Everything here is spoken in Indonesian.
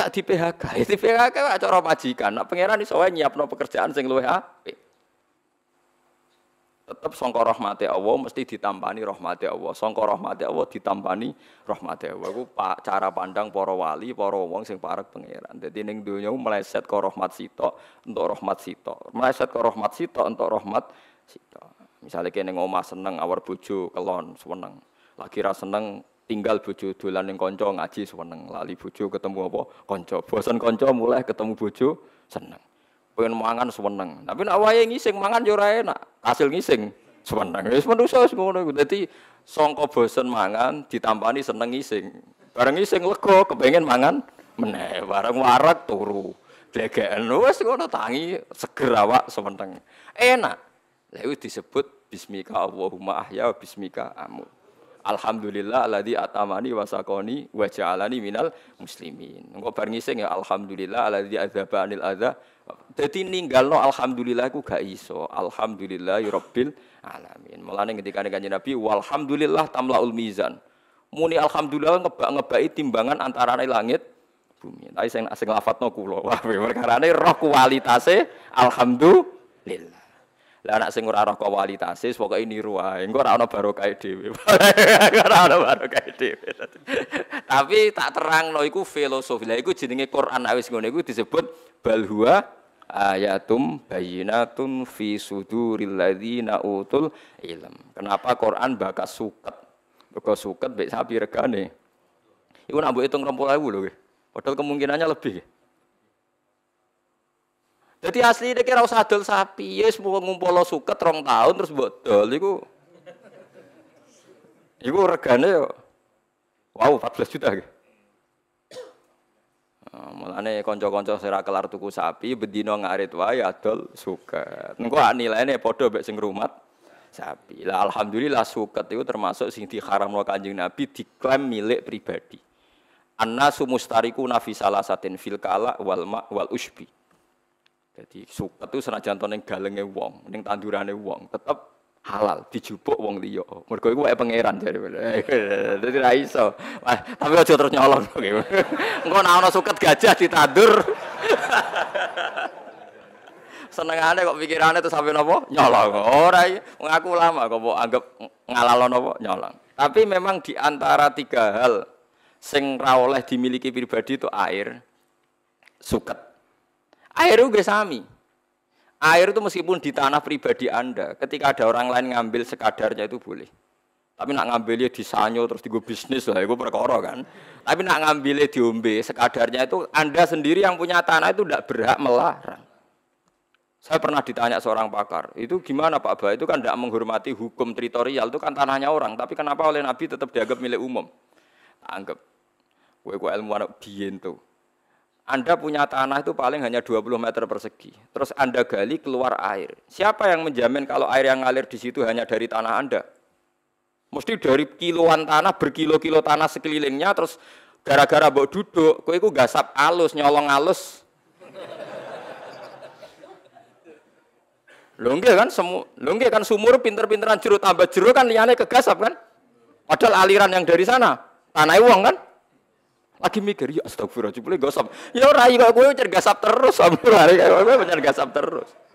gak di PHK. Di PHK cara majikan. Nek pangeran iso wae nyiapno pekerjaan sing luwih apik. Tetap sangka rahmate Allah mesti ditampani rahmate Allah. Sangka rahmate Allah ditampani rahmate Allah. Iku cara pandang para wali, para wong sing parek pangeran. Dadi ning donya meleset ka rahmat sitok, entuk rahmat sitok. Meleset ka rahmat sitok, entuk rahmat sitok. Misale kene ning omah seneng awar bojo kelon seneng. Lagi ra seneng tinggal bojo dolan ning kanca ngaji seneng. Lali bojo ketemu apa? Kanca. Bosen kanca mulai ketemu bojo seneng. Pengen mangan seneng. Tapi nek wayahe ngising mangan yo ora enak. Hasil ngising seneng. Wis manusa wis ngono iku. Dadi sangka bosen mangan ditampani seneng ngising. Bareng ngising lega kepengin mangan meneh. Bareng warak turu. Dlegeken wis ngono tangi seger awak seneng. Enak. Lha iku disebut bismika Allahumma ahya bismika amut. Alhamdulillah alladzi atamani wa saqani wa ja'alani minal muslimin. Engko bar ngising ya alhamdulillah alladzi adzaba anil adza. Dadi ninggalno alhamdulillah iku gak iso. Alhamdulillahirabbil alamin. Mulane ketika Kanjeng Nabi walhamdulillah tamlaul mizan. Muni alhamdulillah ngebak-ngebaki timbangan antarane langit bumi. Tapi sing lafadzno kula. Wah, perkarane roh kualitase alhamdulillah. Lah anak sing ora roh kualitase pokoke niru wae. Engko ora ana barokah dhewe. Ora ana barokah dhewe. Tapi tak terangno iku filosofi. Lah iku jenenge Quran wis ngono iku disebut bal huwa ayatum bayyinatun fi suduril ladzina utul ilm. Kenapa Quran bakas suket? Mergo suket mek sapi regane. Iku nak mbok hitung 20.000 lho. Padahal kemungkinannya lebih. Jadi asli nek ora usah dol sapi, ya wis ngumpul suket 2 tahun terus mbok dol iku regane yo wow 14 juta iki. Mulane kanca-kanca sing ora kelar tuku sapi bendina ngarit wae adol suket. Engko nilainya padha mek sing rumat sapi. Lah alhamdulillah suket itu termasuk sing diharamno Kanjeng Nabi diklaim milik pribadi. Annasu mustarikuna fi salasatin fil kala wal ma wal usbi. Jadi suket itu senajan to ning galenge wong, ning tandurane wong, tetep halal dijupuk wong liya. Mergo iku wae pangeran jare. Dadi ra iso. Tapi aja terus nyolong. Engko nek ana suket gajah ditandur. Senengane kok pikirane terus sampe napa? Nyolong. Ora iki wong aku ulama kok mbok anggap ngalalon napa? Nyolong. Tapi memang di antara 3 hal sing ra oleh dimiliki pribadi itu air, suket. Air itu sami. Air itu meskipun di tanah pribadi Anda, ketika ada orang lain ngambil sekadarnya itu boleh. Tapi nak ngambilnya di sanyo terus digo bisnis lah, itu perkara kan. Tapi nak ngambilnya diombe sekadarnya itu Anda sendiri yang punya tanah itu tidak berhak melarang. Saya pernah ditanya seorang pakar, itu gimana Pak Ba? Itu kan tidak menghormati hukum teritorial, itu kan tanahnya orang. Tapi kenapa oleh Nabi tetap dianggap milik umum? Anggap, gue ilmu anak biyen tuh. Anda punya tanah itu paling hanya 20 meter persegi. Terus Anda gali keluar air. Siapa yang menjamin kalau air yang ngalir di situ hanya dari tanah Anda? Mesti dari kiloan tanah, berkilo-kilo tanah sekelilingnya. Terus gara-gara mbok duduk, kowe iku gasap alus, nyolong alus. Lho nggih kan sumur pinter-pinteran jero tambah jero kan liyane kegasap kan? Padahal aliran yang dari sana tanah wong kan? Lagi mikir, ya astagfirullah, jebule gosop. Ya ora kok kowe cer gasap terus, sampe hari kowe pancen gasap terus.